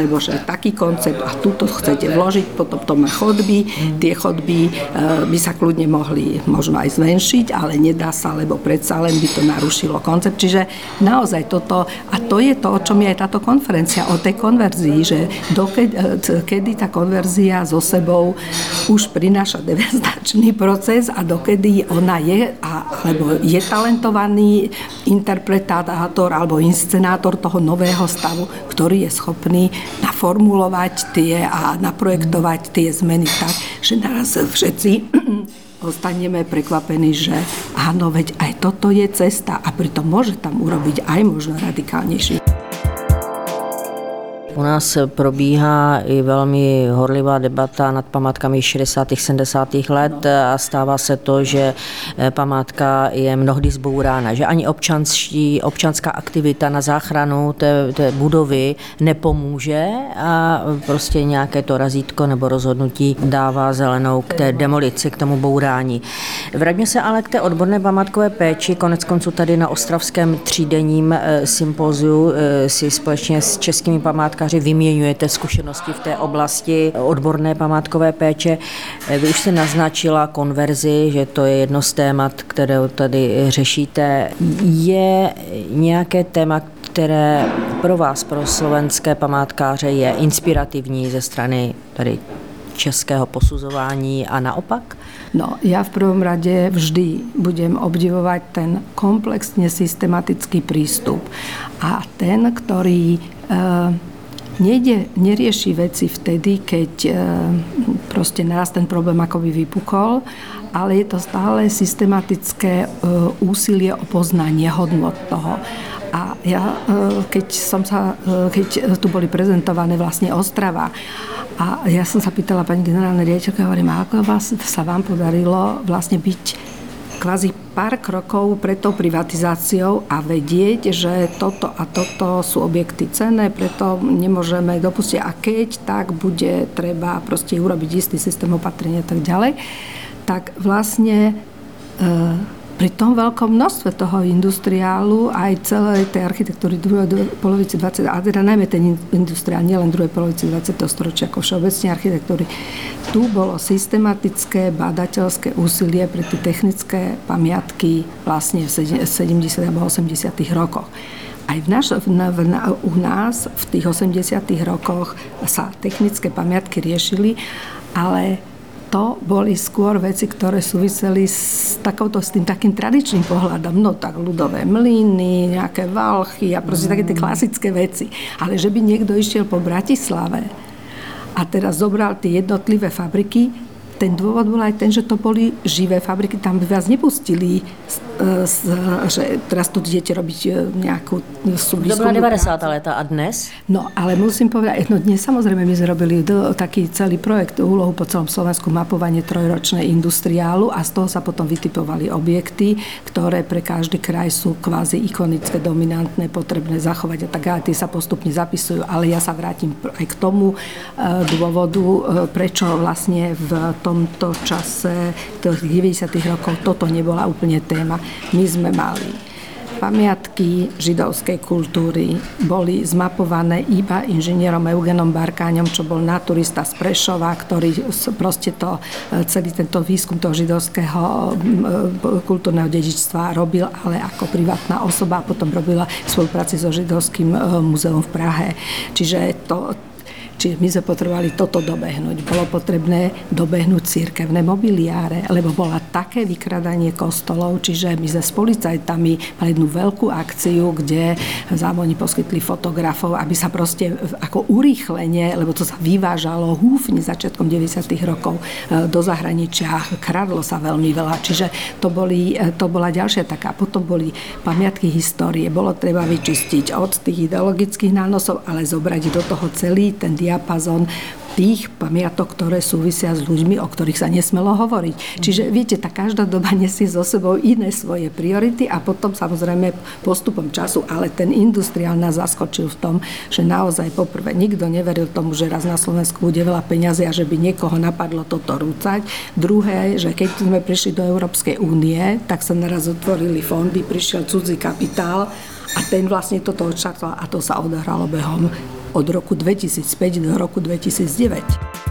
alebo že taký koncept a tuto chcete vložiť, potom to má chodby, tie chodby by sa kľudne mohli možno aj zmenšiť, ale nedá sa, lebo predsa len by to narušilo koncept. Čiže naozaj toto, a to je to, o čom je aj táto konferencia, o tej konverzii, že dokedy, kedy tá konverzia so sebou už prináša devastačný proces a dokedy ona je, alebo je talentovaný interpretátor alebo inscenátor toho nového stavu, ktorý je schopný naformulovať tie a naprojektovať tie zmeny tak, že naraz všetci ostaneme prekvapení, že áno, veď aj toto je cesta a pritom môže tam urobiť aj možno radikálnejší. U nás probíhá i velmi horlivá debata nad památkami šedesátých sedmdesátých let a stává se to, že památka je mnohdy zbourána, že ani občanští, občanská aktivita na záchranu té, té budovy nepomůže a prostě nějaké to razítko nebo rozhodnutí dává zelenou k té demolici, k tomu bourání. Vraťme se ale k té odborné památkové péči. Konec konců tady na ostravském třídenním sympóziu si společně s českými památkáři vyměňujete zkušenosti v té oblasti odborné památkové péče. Vy už jste naznačila konverzi, že to je jedno z témat, které tady řešíte. Je nějaké téma, které pro vás, pro slovenské památkáře je inspirativní ze strany tady českého posuzování a naopak? No, ja v prvom rade vždy budem obdivovať ten komplexne systematický prístup a ten, ktorý e, nejde, nerieši veci vtedy, keď e, proste naraz ten problém akoby vypukol, ale je to stále systematické e, úsilie o poznanie hodnot toho. A ja, keď, som sa, keď tu boli prezentované vlastne Ostrava a ja som sa pýtala pani generálnej riaditeľke, hovorím, ako vás, sa vám podarilo vlastne byť kvázi pár krokov pred tou privatizáciou a vedieť, že toto a toto sú objekty cenné, preto nemôžeme dopustiť a keď tak bude treba proste urobiť istý systém opatrenia a tak ďalej, tak vlastne e, pri tom veľkom množstve toho industriálu aj celej tej architektúry druhej polovici dvadsiateho a teda najmä ten industriál, nielen druhej polovici dvadsiateho storočia, ako všeobecne architektúry. Tu bolo systematické badateľské úsilie pre tie technické pamiatky vlastne v sedemdesiatych alebo osemdesiatych rokoch. Aj v naš, v, v, u nás v tých osemdesiatych rokoch sa technické pamiatky riešili, ale to boli skôr veci, ktoré súviseli s, takouto, s tým takým tradičným pohľadom. No tak ľudové mlyny, nejaké valchy a proste také tie klasické veci. Ale že by niekto išiel po Bratislave a teraz zobral tie jednotlivé fabriky, ten dôvod bol aj ten, že to boli živé fabriky, tam by vás nepustili, že teraz tu idete robiť nejakú súvisku. To bola devadesátá léta a dnes? No, ale musím povedať, no dnes samozrejme my sme robili taký celý projekt, úlohu po celom Slovensku, mapovanie trojročné industriálu a z toho sa potom vytipovali objekty, ktoré pre každý kraj sú kvázi ikonické, dominantné, potrebné zachovať a tak ďalej. Tie sa postupne zapisujú, ale ja sa vrátim aj k tomu dôvodu, prečo vlastne v tomto čase tých deväťdesiatych rokov toto nebola úplne téma. My sme mali pamiatky židovskej kultúry, boli zmapované iba inžinierom Eugenom Barkáňom, čo bol naturista z Prešova, ktorý proste to, celý tento výskum toho židovského kultúrneho dedičstva robil, ale ako privátna osoba a potom robila v spolupráci so Židovským múzeum v Prahe. Čiže to Čiže my sme potrebovali toto dobehnúť. Bolo potrebné dobehnúť cirkevné mobiliáre, lebo bola také vykradanie kostolov, čiže my sme s policajtami mali jednu veľkú akciu, kde zámoni poskytli fotografov, aby sa proste ako urýchlenie, lebo to sa vyvážalo húfne začiatkom deväťdesiatych rokov do zahraničia, kradlo sa veľmi veľa. Čiže to, boli, to bola ďalšia taká. Potom boli pamiatky histórie. Bolo treba vyčistiť od tých ideologických nánosov, ale zobrať do toho celý ten diapazon tých pamiatok, ktoré súvisia s ľuďmi, o ktorých sa nesmelo hovoriť. Čiže viete, tá každá doba nesie so sebou iné svoje priority a potom samozrejme postupom času, ale ten industriál nás zaskočil v tom, že naozaj poprvé nikto neveril tomu, že raz na Slovensku bude veľa peňazí a že by niekoho napadlo toto rúcať. Druhé, že keď sme prišli do Európskej únie, tak sa naraz otvorili fondy, prišiel cudzí kapitál a ten vlastne toto odštartoval a to sa odohralo behom od roku dvetisícpäť do roku dvetisícdeväť.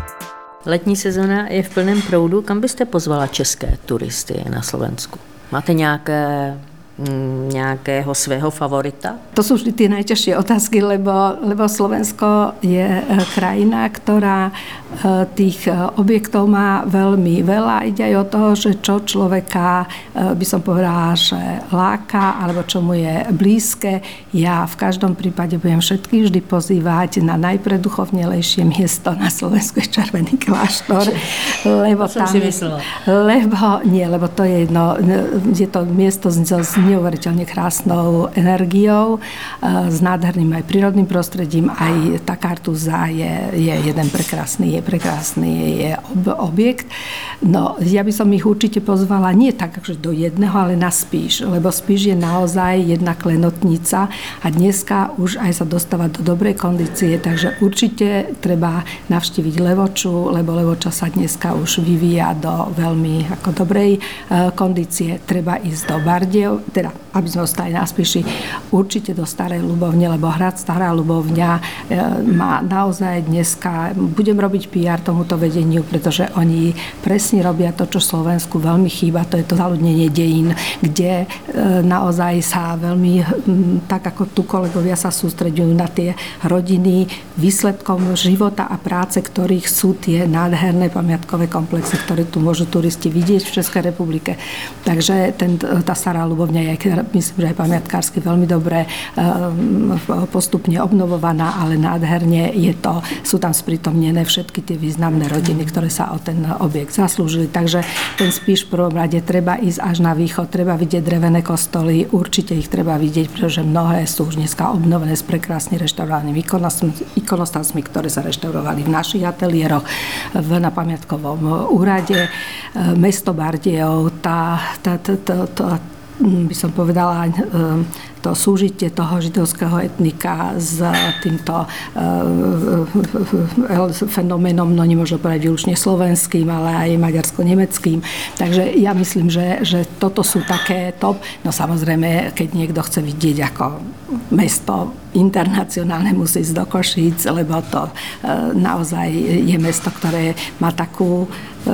Letní sezona je v plném proudu. Kam byste pozvala české turisty na Slovensku? Máte nějaké nejakého svého favorita? To sú vždy tie najťažšie otázky, lebo, lebo Slovensko je krajina, ktorá tých objektov má veľmi veľa. Ide aj o toho, že čo človeka, by som povedala, že láka, alebo čo mu je blízke. Ja v každom prípade budem všetkých vždy pozývať na najpreduchovnelejšie miesto na Slovensku, je Červený kláštor. Lebo to tam som si je, myslela. Lebo, nie, lebo to je jedno, je to miesto z, z neuveriteľne krásnou energiou, s nádherným aj prírodným prostredím, aj tá Kartuza je, je jeden prekrásny, je prekrásny je ob, objekt. No, ja by som ich určite pozvala nie tak, že do jedného, ale na Spíš, lebo Spíš je naozaj jedna klenotnica a dneska už aj sa dostáva do dobrej kondície, takže určite treba navštíviť Levoču, lebo Levoča sa dneska už vyvíja do veľmi ako dobrej kondície. Treba ísť do Bardiev, teda aby sme ostali na Spíši, určite do Starej Ľubovne, lebo hrad Stará Ľubovňa má naozaj dneska, budem robiť pé er tomuto vedeniu, pretože oni presne robia to, čo Slovensku veľmi chýba, to je to zaľudnenie dejín, kde naozaj sa veľmi, tak ako tu kolegovia sa sústreďujú na tie rodiny, výsledkom života a práce, ktorých sú tie nádherné pamiatkové komplexy, ktoré tu môžu turisti vidieť v Českej republike. Takže ten, tá Stará Ľubovňa je, myslím, že aj pamiatkársky veľmi dobre postupne obnovovaná, ale nádherne je to, sú tam sprítomnené všetky tie významné rodiny, ktoré sa o ten objekt zaslúžili. Takže ten Spíš v prvom rade treba ísť až na východ, treba vidieť drevené kostoly, určite ich treba vidieť, pretože mnohé sú už dneska obnovené s prekrásne reštaurovanými ikonostasmi, ktoré sa reštaurovali v našich ateliéroch, v, na pamiatkovom úrade. Mesto Bardejov, tá, tá, tá, tá, tá by som povedala, to súžitie toho židovského etnika s týmto fenoménom, no nemôžno povedať výlučne slovenským, ale aj maďarsko-nemeckým. Takže ja myslím, že, že toto sú také top. No samozrejme, keď niekto chce vidieť ako mesto internacionálne, musí ísť do Košíc, lebo to naozaj je mesto, ktoré má takú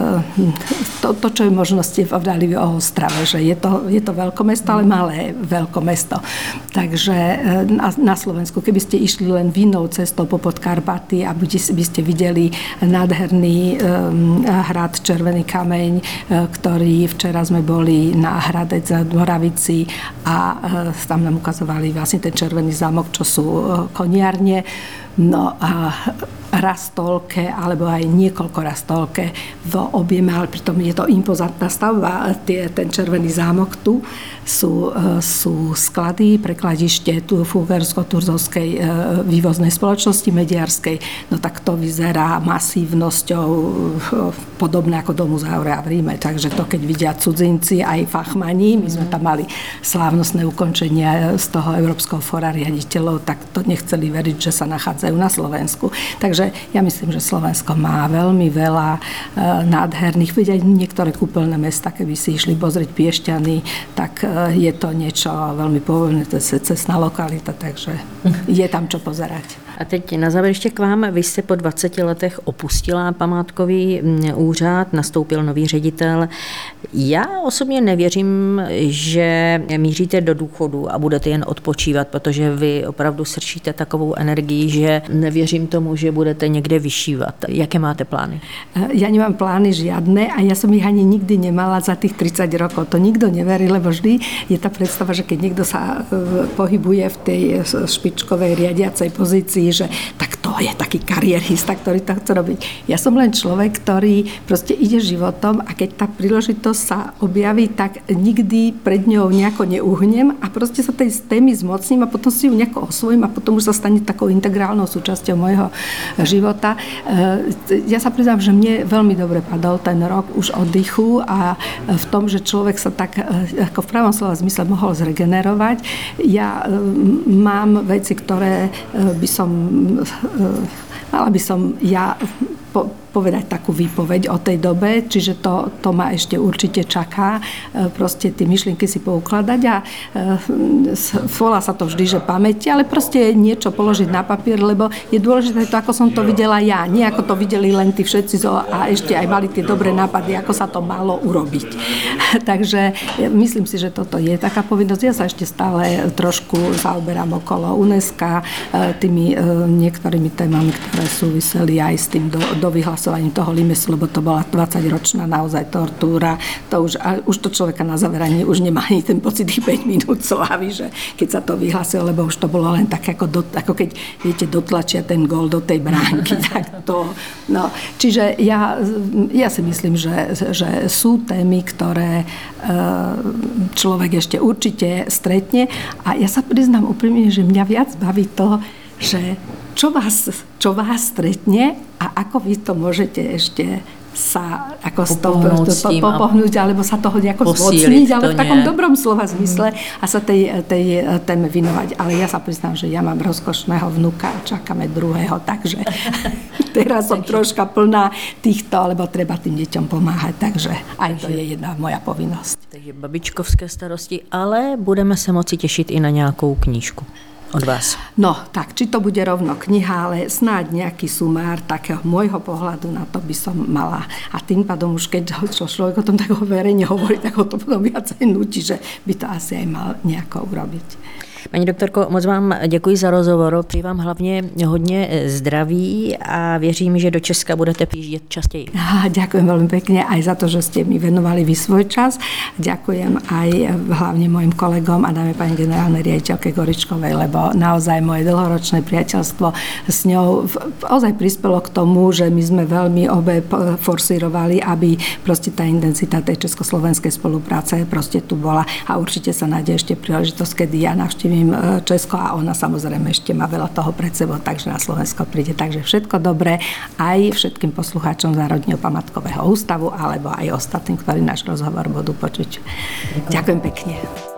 to, to čo je možnosti povedali o Ostrave, že je to, je to veľkomesto, ale malé veľkomesto. Takže na, na Slovensku, keby ste išli len vinnou cestou po Podkarpaty a by ste videli nádherný um, hrad Červený kameň, ktorý včera sme boli na Hradec na Moravici a uh, tam nám ukazovali vlastne ten Červený zámok, čo sú uh, koniarne. No a Rastolke, alebo aj niekoľko Rastolke v objeme, ale pritom je to impozantná stavba. Tie, ten Červený zámok tu sú, sú sklady, prekladište tu Fúgersko-Turzovskej vývoznej spoločnosti mediarskej. No tak to vyzerá masívnosťou podobné ako do Muzea v Ríme. Takže to, keď vidia cudzinci, aj fachmani, my sme tam mali slávnostné ukončenie z toho Európskeho fóra riaditeľov, tak to nechceli veriť, že sa nachádzajú na Slovensku. Takže ja myslím, že Slovensko má veľmi veľa e, nádherných, veď aj niektoré kúpeľné mesta, keby si išli pozrieť Piešťany, tak e, je to niečo veľmi povolené, to je cestná lokalita, takže je tam čo pozerať. A teď na závěr ještě k vám. Vy jste po dvaceti letech opustila památkový úřad, nastoupil nový ředitel. Já osobně nevěřím, že míříte do důchodu a budete jen odpočívat, protože vy opravdu srčíte takovou energii, že nevěřím tomu, že budete někde vyšívat. Jaké máte plány? Ja nemám plány žiadne a ja som ich ani nikdy nemala za tých tridsať rokov. To nikto neverí, lebo vždy je tá predstava, že keď niekto sa pohybuje v tej špičkovej riadiacej pozícii, že tak to je taký kariérista, ktorý to chce robiť. Ja som len človek, ktorý proste ide životom a keď tá príležitosť sa objaví, tak nikdy pred ňou nejako neuhnem a proste sa tej témy zmocním a potom si ju nejako osvojím a potom už sa stane takou integrálnou súčasťou môjho života. Ja sa priznám, že mne veľmi dobre padol ten rok už oddychu a v tom, že človek sa tak ako v pravom slova zmysle mohol zregenerovať. Ja mám veci, ktoré by som mala by som ja po, povedať takú výpoveď o tej dobe, čiže to, to ma ešte určite čaká, proste tie myšlienky si poukladať a volá sa to vždy, že pamäti, ale proste niečo položiť na papier, lebo je dôležité to, ako som to videla ja, nie ako to videli len tí všetci a ešte aj mali tie dobré nápady, ako sa to malo urobiť. Takže myslím si, že toto je taká povinnosť. Ja sa ešte stále trošku zaoberám okolo UNESCO tými niektorými témami, ktoré súviseli aj s tým do, do vyhlasovaním toho Limesu, lebo to bola dvadsaťročná naozaj tortúra. To už, a už to človeka na zaveraní už nemá ani ten pocit tých päť minút slávy, že keď sa to vyhlasilo, lebo už to bolo len tak, ako, do, ako keď, viete, dotlačia ten gól do tej bránky. Tak to, no. Čiže ja, ja si myslím, že, že sú témy, ktoré človek ešte určite stretne a ja sa priznám úprimne, že mňa viac baví to, že čo vás, čo vás stretne a ako vy to môžete ešte sa ako popohnúť, to, to, to, popohnúť alebo sa toho nejako zmocniť, ale v takom dobrom slova zmysle a sa tej, tej téme vinovať. Ale ja sa priznám, že ja mám rozkošného vnuka a čakáme druhého, takže teraz som troška plná týchto, lebo treba tým deťom pomáhať, takže aj to je jedna moja povinnosť. Takže babičkovské starosti, ale budeme se moci těšit i na nějakou knížku od vás. No, tak, či to bude rovno kniha, ale snáď nejaký sumár takého môjho pohľadu na to by som mala. A tým pádom už keď človek o tom tak verejne hovorí, tak ho to potom viacej nutí, že by to asi aj mal nejako urobiť. Paní doktorko, moc vám děkuji za rozhovor, přeji vám hlavně hodně zdraví a věřím, že do Česka budete přijíždět častěji. Ďakujem veľmi pekne aj za to, že ste mi venovali vy svoj čas. Ďakujem aj hlavne mojim kolegom a dáme pani generálnej riaditeľke Goričkovej, lebo naozaj moje dlhoročné priateľstvo s ňou naozaj prispelo k tomu, že my sme veľmi obe forsírovali, aby proste tá intenzita tej československej spolupráce proste tu bola a určite sa nájde ešte príležitosť, kedy ja navštívim Česko a ona samozrejme ešte má veľa toho pred sebou, takže na Slovensko príde. Takže všetko dobré aj všetkým poslucháčom Národného památkového ústavu alebo aj ostatným, ktorí náš rozhovor budú počuť. Ďakujem, Ďakujem pekne.